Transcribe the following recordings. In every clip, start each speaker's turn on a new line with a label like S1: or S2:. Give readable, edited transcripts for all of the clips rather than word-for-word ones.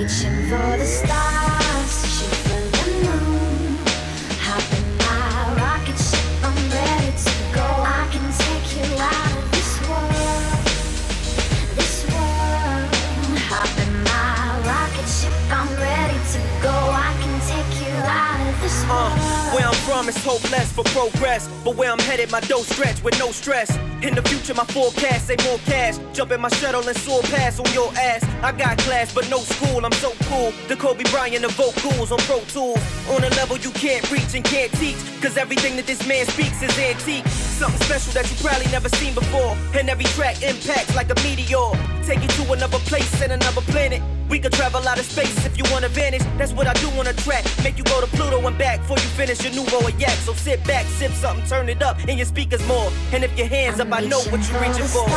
S1: reaching for the stars, shoot for the moon. Hop in my rocket ship, I'm ready to go. I can take you out of this world, this world. Hop in my rocket ship, I'm ready to go. I can take you out of this world.
S2: Where I'm from is hopeless for progress, but where I'm headed, my dough stretch with no stress. In the future, my forecast say more cash. Jump in my shuttle and soar past on your ass. I got class, but no school. I'm so cool. The Kobe Bryant of vocals on Pro Tools. On a level you can't reach and can't teach, cause everything that this man speaks is antique. Something special that you probably never seen before. And every track impacts like a meteor. Take you to another place and another planet. We could travel out of space if you wanna vanish. That's what I do on a track. Make you go to Pluto and back before you finish your nouveau or yak. So sit back, sip something, turn it up in your speakers more. And if your hands up, I know what you're reaching for.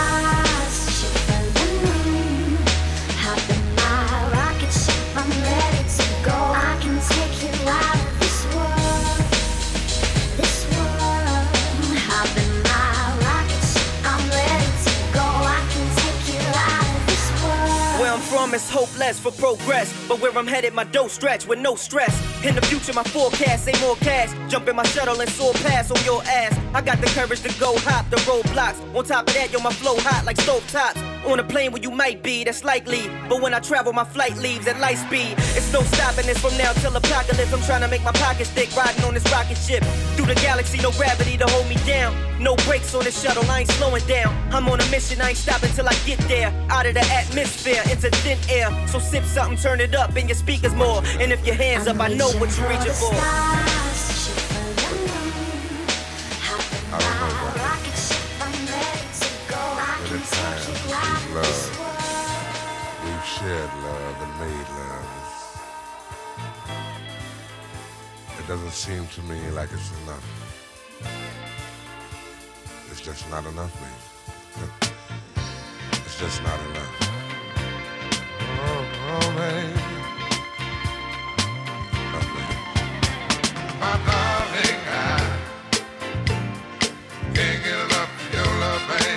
S1: Hop in my rocket ship, I'm ready to go. I can take you out of this world, this world. Hop in my rocket ship, I'm ready to go. I can take you out of this world.
S2: Where I'm from is hopeless for progress, but where I'm headed, my dough stretch with no stress. In the future, my forecast say more cash. Jump in my shuttle and soar past on your ass. I got the courage to go hop the roadblocks. On top of that, yo, my flow hot like stove tops. On a plane where you might be, that's likely. But when I travel, my flight leaves at light speed. It's no stopping this from now till apocalypse. I'm trying to make my pockets thick, riding on this rocket ship. Through the galaxy, no gravity to hold me down. No brakes on this shuttle, I ain't slowing down. I'm on a mission, I ain't stopping till I get there. Out of the atmosphere, into thin air. So sip something, turn it up in your speakers more. And if your hands up, I know what you're reaching for.
S3: We've shared love and made love. It doesn't seem to me like it's enough. It's just not enough, baby. It's just not enough. Oh, baby. Oh, baby. My darling, I can't get enough of your love, baby.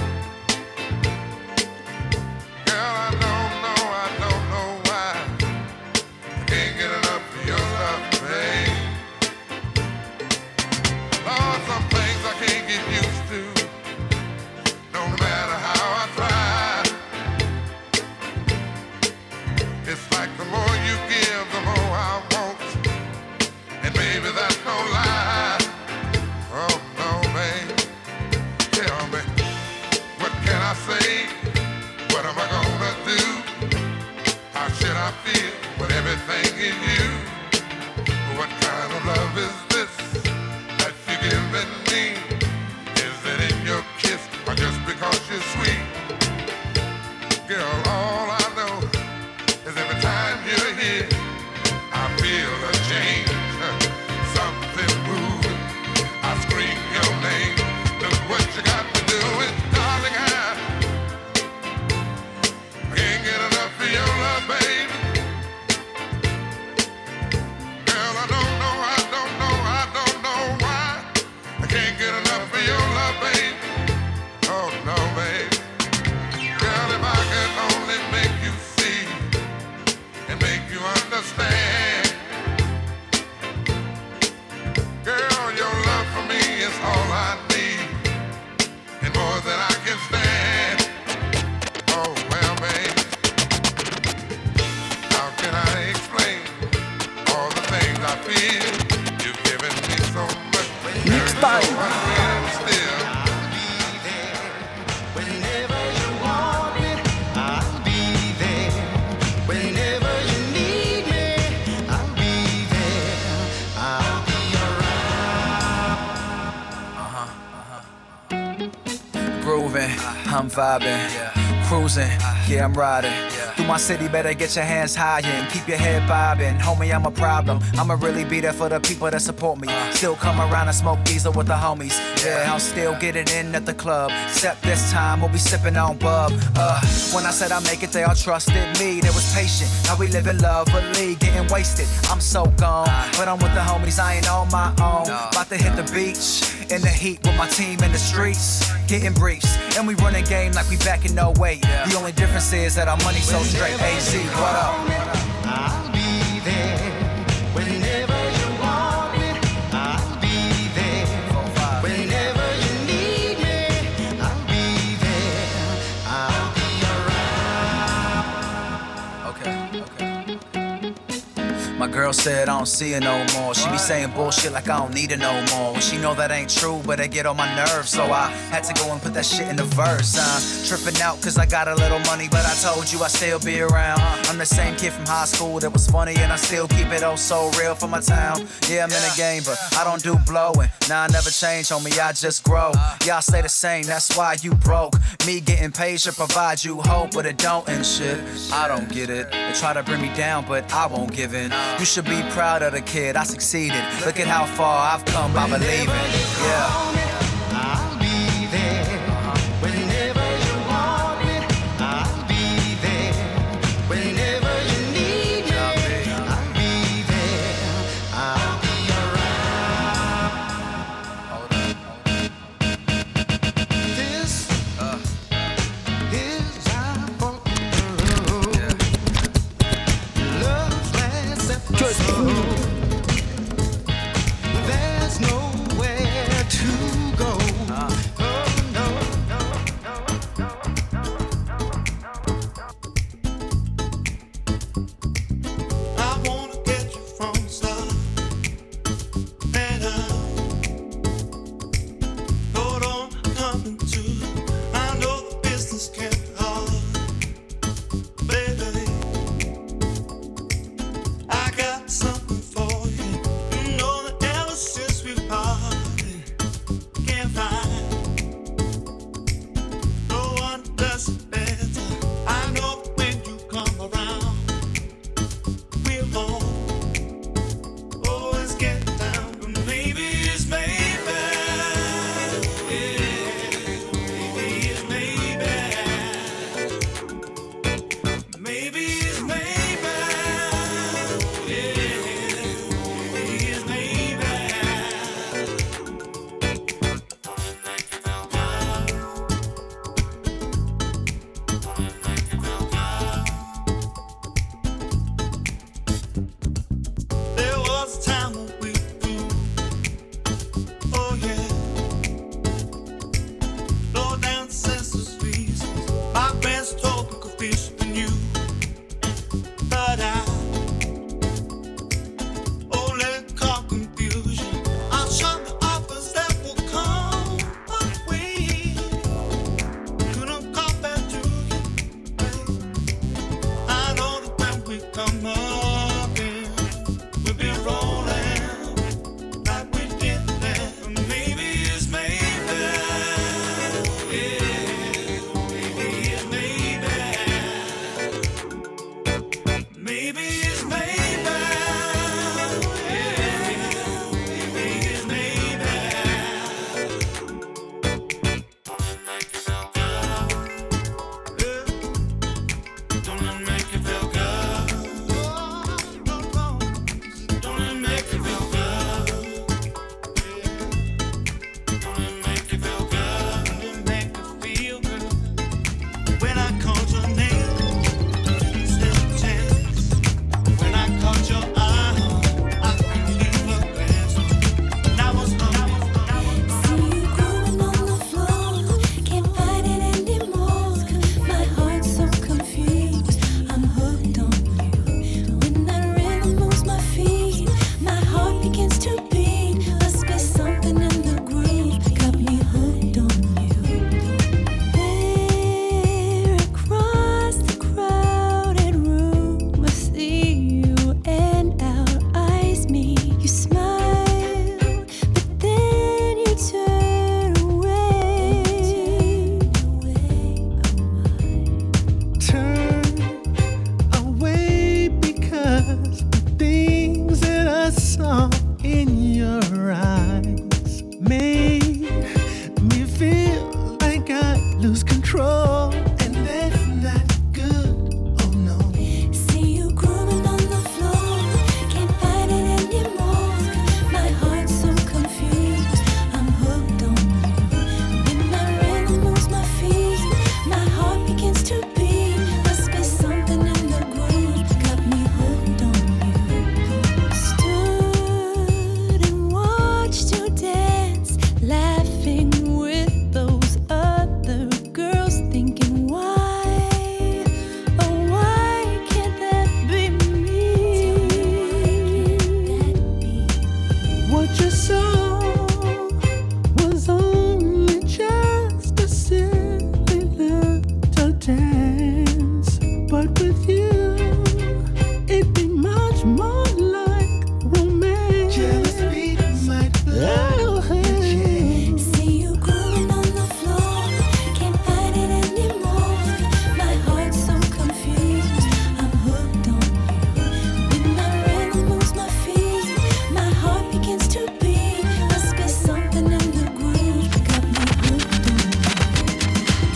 S4: I'm vibing, cruising, yeah, I'm riding. Through my city, better get your hands high and keep your head bobbing. Homie, I'm a problem. I'ma really be there for the people that support me. Still come around and smoke diesel with the homies. Yeah, I'm still getting in at the club. Except this time, we'll be sipping on bub. When I said I make it, they all trusted me. They was patient. Now we live in lovely, getting wasted. I'm so gone, but I'm with the homies. I ain't on my own. About to hit the beach In the heat with my team in the streets, getting briefs. And we running game like we back in 08. The only difference is that our money's so straight. AZ, what up?
S5: I'll be there whenever you want me. I'll be there whenever you need me. I'll be there. I'll be around.
S4: Okay. My girl said I don't see her no more. She be saying bullshit like I don't need her no more. When she know that ain't true, but it get on my nerves. So I had to go and put that shit in the verse. Tripping out cause I got a little money, but I told you I still be around. I'm the same kid from high school that was funny, and I still keep it oh so real for my town. Yeah, I'm in the game, but I don't do blowing. Nah, I never change, homie, I just grow. Y'all stay the same, that's why you broke. Me getting paid should provide you hope, but it don't and shit. I don't get it. They try to bring me down, but I won't give in. You should be proud of the kid, I succeeded. Look at how far I've come by believing. Yeah.
S5: I'll be there whenever you want me. I'll be there whenever you need me. I'll be there. I'll be around. This is our world. Love's last episode. There's nowhere to go. Oh, no. I wanna get you from the start. And hold on, coming to. I know the business can be hard, baby. I got something for you. You know that ever since we've parted, can't find no one does it better. I know that when you come around, we're always get down, but maybe it's maybe, yeah, maybe it's maybe, maybe it's maybe, yeah, maybe it's maybe. There was a time when we
S6: What you saw was only just a silly little dance, but with you, it'd be much more like romance.
S5: Just beat my blood.
S6: Oh, hey.
S1: See you grooving on the floor, can't fight it anymore. My heart's so confused, I'm hooked on you. When my rhythm moves my feet, my heart begins to beat. Must be something in the groove that got me hooked on you.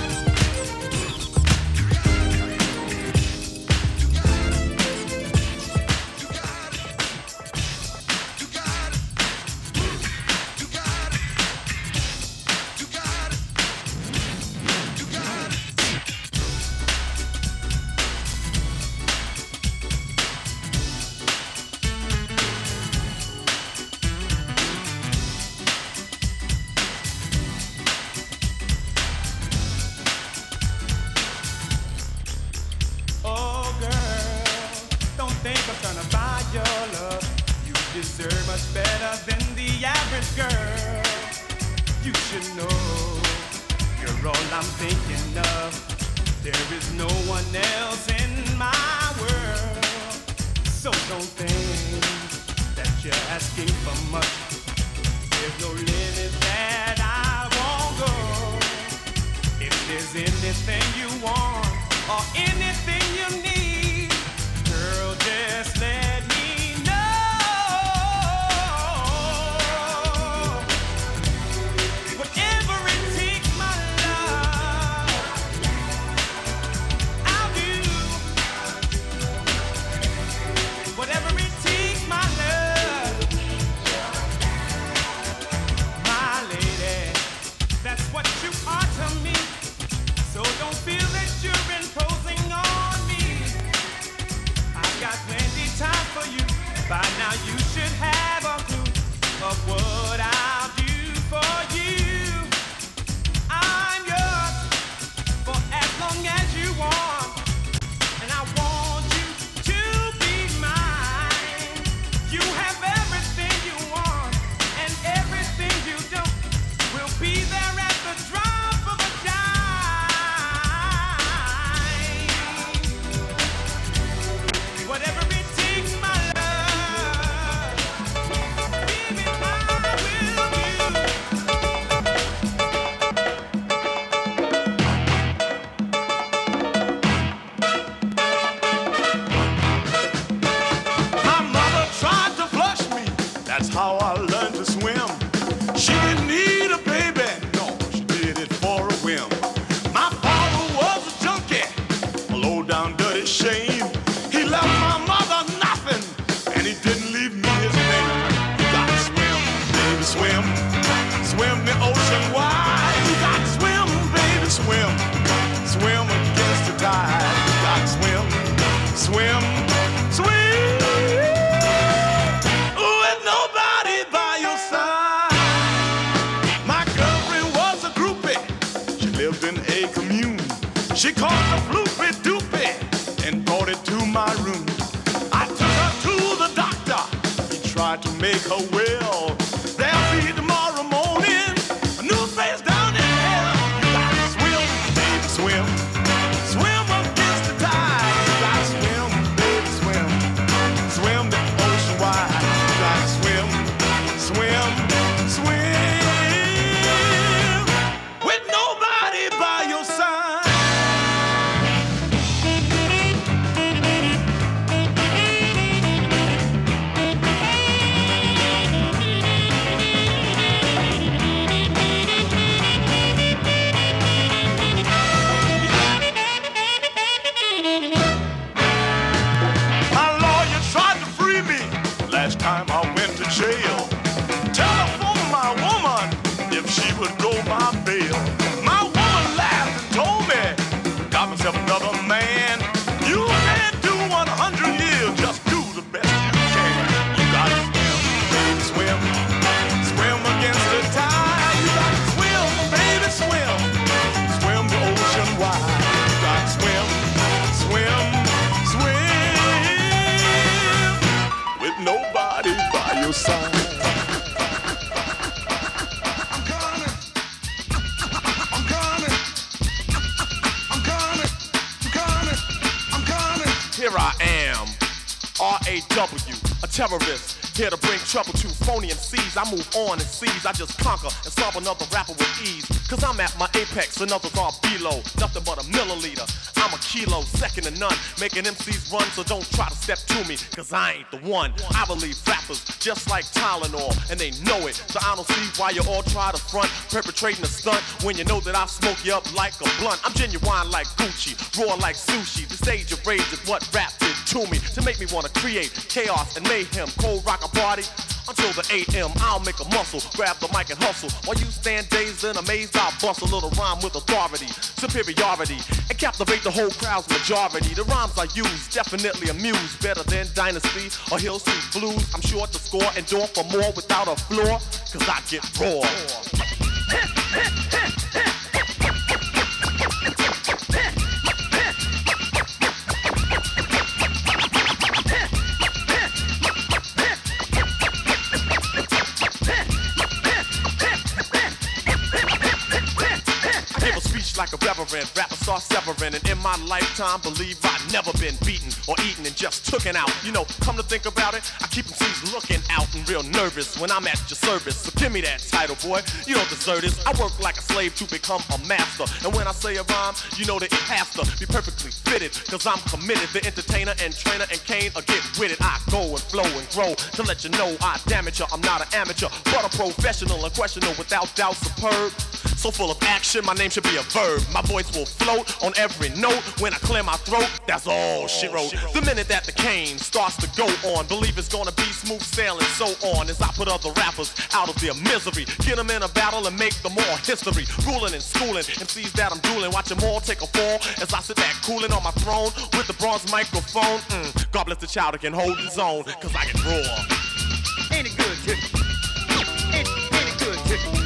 S7: Oh, girl, don't think I'm trying to buy your love. You deserve much better than the average girl. You should know you're all I'm thinking of. There is no one else in my world. So don't think that you're asking for much. There's no limit that I won't go. If there's anything you want or anything you need, girl, just let me know. Whatever it takes, my love, I'll do. Whatever it takes, my love, my lady, that's what you are to me. So don't feel that you're imposing on me. I've got plenty time for you. By now you should have a clue of what I'll do for you. I'm yours for as long as you want, and I want you to be mine. You have everything you want, and everything you don't will be there at the drop of a dime. Whatever it takes, my love, baby, I will do.
S8: My mother tried to flush me. That's how I learned to swim. She didn't need a baby. No, she did it for a whim. My father was a junkie, a low down dirty shame. He left my mother nothing, and he didn't leave me his name. You gotta swim, baby, swim. Swim the ocean wide. You gotta swim, baby, swim. Swim against the tide. You gotta swim, swim, swim. With nobody by your side. My girlfriend was a groupie. She lived in a commune. She caught the floopy doopy and brought it to my room. I took her to the doctor. He tried to make her well. There'll be tomorrow morning a new face down in hell. You gotta swim, baby, swim. Swim against the tide. You gotta swim, baby, swim. Swim the ocean wide. You gotta swim, swim, swim. With nobody by your side. R-A-W, a terrorist. Here to bring trouble to phony MCs. I move on and seize. I just conquer and solve another rapper with ease. Cause I'm at my apex and others are below. Nothing but a milliliter. I'm a kilo, second to none. Making MCs run, so don't try to step to me. Cause I ain't the one. I believe rappers just like Tylenol, and they know it. So I don't see why you all try to front, perpetrating a stunt when you know that I smoke you up like a blunt. I'm genuine like Gucci, raw like sushi. The stage of rage is what rap did to me, to make me wanna create chaos and mayhem. Cold rock a party until the AM. I'll make a muscle, grab the mic and hustle. While you stand dazed and amazed, I'll bust a little rhyme with authority, superiority, and captivate the whole crowd's majority. The rhymes I use definitely amuse, better than Dynasty or Hill Street Blues. I'm sure to score and door for more without a floor, cause I get raw. Like a reverend, rapper start severing. And in my lifetime, believe I've never been beaten or eaten and just tooken out. You know, come to think about it, I keep MCs looking out and real nervous when I'm at your service. So give me that title, boy, you don't deserve this. I work like a slave to become a master. And when I say a rhyme, you know that it has to be perfectly fitted. Cause I'm committed, the entertainer and trainer and Kane will get with it. I go and flow and grow to let you know I damage you. I'm not an amateur, but a professional, unquestionable, without doubt superb. So full of action, my name should be a verb. My voice will float on every note when I clear my throat. That's all she wrote. The minute that the cane starts to go on, believe it's gonna be smooth sailing, so on. As I put other rappers out of their misery, get them in a battle and make them more history. Ruling and schooling, MCs that I'm dueling, watch them all take a fall as I sit back cooling on my throne with the bronze microphone. God bless the child that can hold his own, cause I can roar. Ain't it good, Tippy? Ain't it good, Tippy?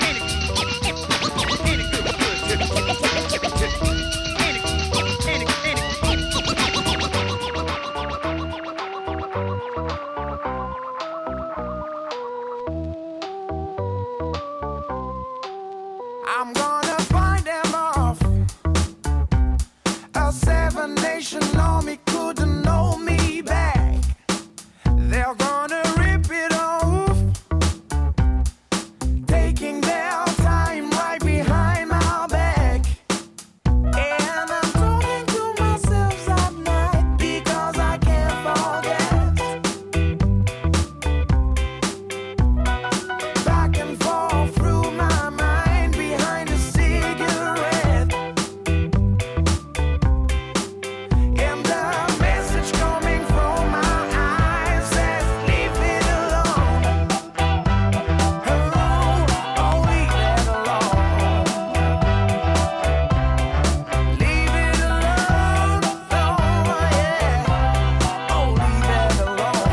S6: I'm gonna find them off. A 7-nation army couldn't know me back. They're gonna rip it off, taking their time right behind my back. And I'm talking to myself at night because I can't forget. Back and forth through my mind behind a cigarette. And the message coming from my eyes says, leave it alone. Oh, leave it alone. Leave it alone. Oh, yeah. Oh, leave it alone.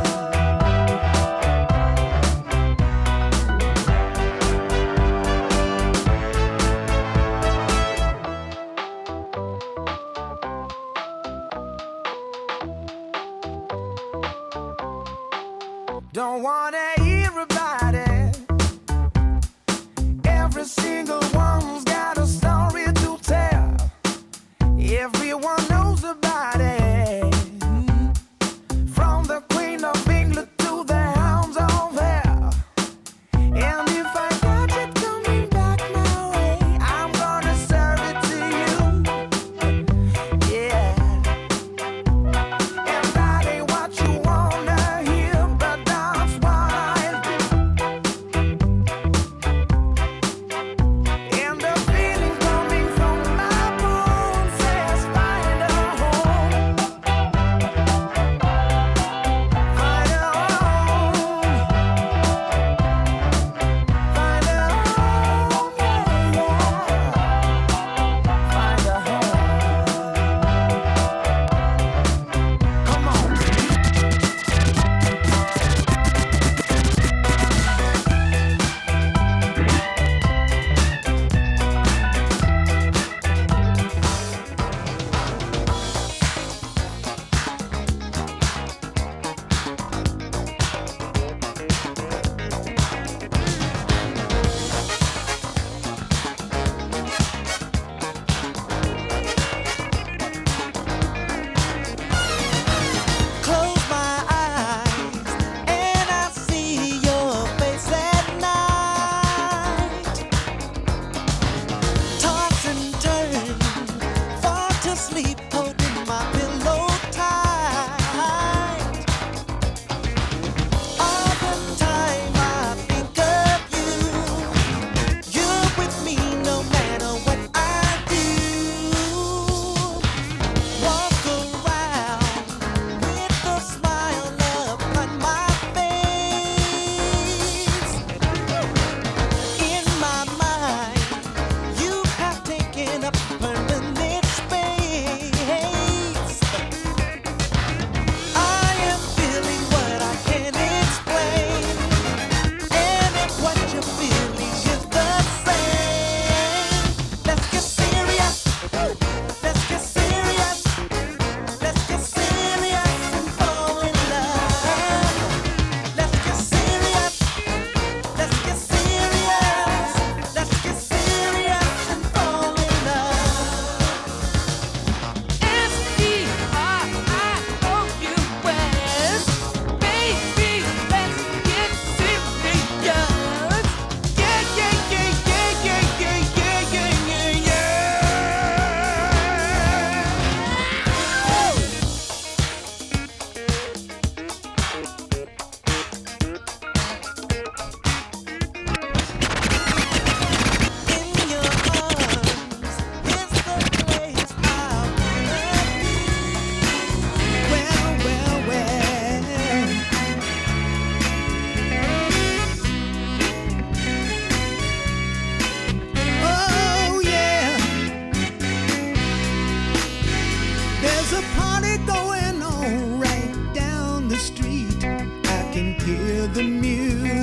S6: Don't wanna hear about it. Every single one's got a story to tell. Everyone knows about it. From the Queen of England to the Hounds of Hell. And if I catch it coming back my way, I'm gonna serve it to you. Yeah. And that ain't what you wanna hear, but that's what I'll do. And the feeling coming from my bones says, find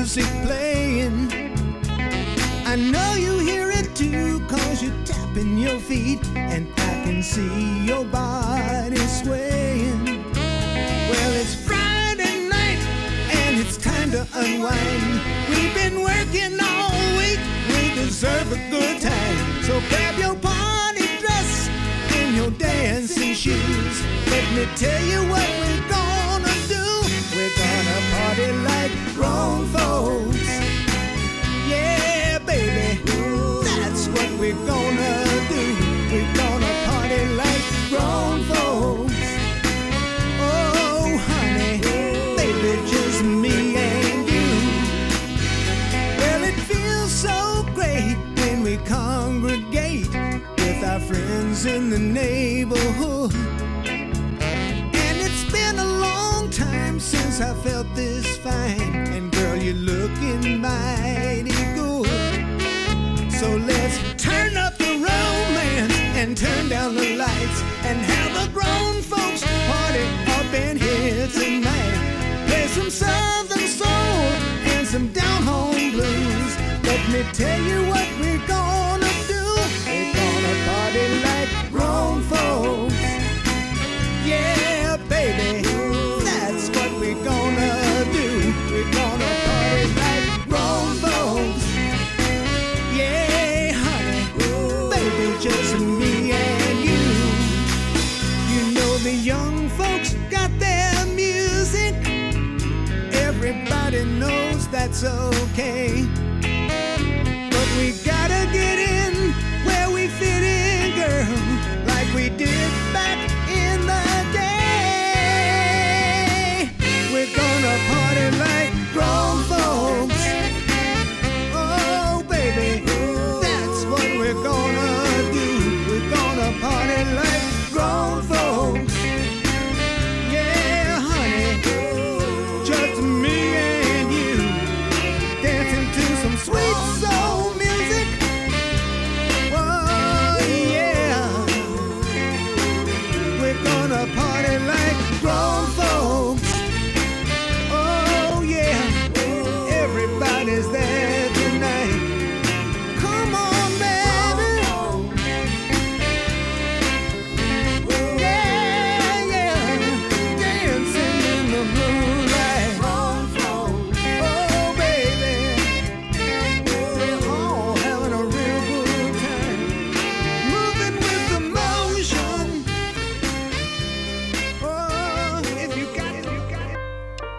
S6: music playing. I know you hear it too, 'cause you're tapping your feet, and I can see your body swaying. Well, it's Friday night, and it's time to unwind. We've been working all week, we deserve a good time. So grab your party dress and your dancing shoes. Let me tell you what we're gonna do. We're gonna party like grown folks. Yeah, baby, that's what we're gonna do. We're gonna party like grown folks. Oh, honey, baby, just me and you. Well, it feels so great when we congregate with our friends in the neighborhood. And it's been a long time since I felt this fine. And girl, you're looking mighty good. So let's turn up the romance and turn down the lights and have a grown folks party up in here tonight. Play some southern soul and some down home blues. Let me tell you what we're gonna do. We're gonna party like grown folks. Yeah, baby, that's what we're gonna do. We're gonna party like grown folks. Yeah, honey, baby, just me and you. You know the young folks got their music. Everybody knows that's okay. But we gotta get in where we fit in, girl, like we did back in the day. We're gonna party like grown folks. Oh, baby, that's what we're gonna do. We're gonna party like grown folks. Yeah, honey, just me and you, dancing to some sweet soul music. Oh, yeah, we're gonna party like grown folks. Oh, yeah, everybody's there tonight. Come on, baby. Yeah, yeah, dancing in the moonlight. Oh, baby, we're all having a real good time, moving with the motion. Oh, if you got it, you got it.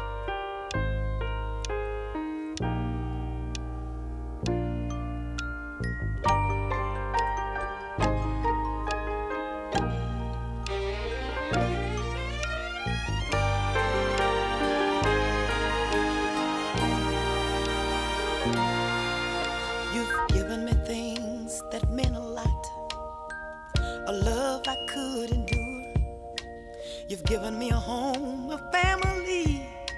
S9: You've given me things that mean a lot, a love I could endure. You've given me a home, a family,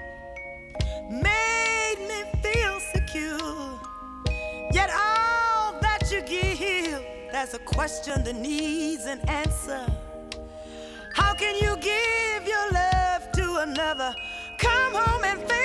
S9: made me feel secure. Yet all that you give, there's a question that needs an answer. How can you give your love to another? Come home and feel